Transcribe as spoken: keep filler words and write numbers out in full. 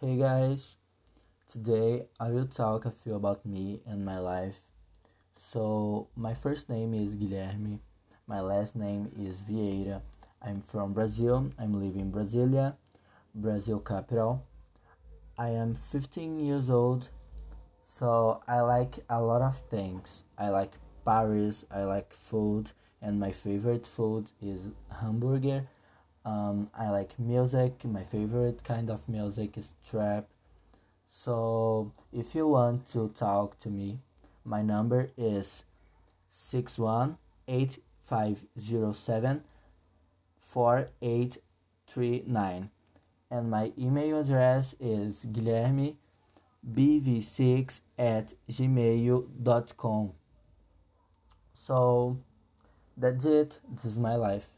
Hey guys, today I will talk a few about me and my life. So, my first name is Guilherme, my last name is Vieira. I'm from Brazil, I'm living in Brasilia, Brazil capital. I am fifteen years old, so I like a lot of things. I like Paris, I like food, and my favorite food is hamburger. Um, I like music, my favorite kind of music is trap. So if you want to talk to me, my number is six one eight five zero seven four eight three nine, and my email address is guilherme b v six at gmail dot com. So that's it. This is my life.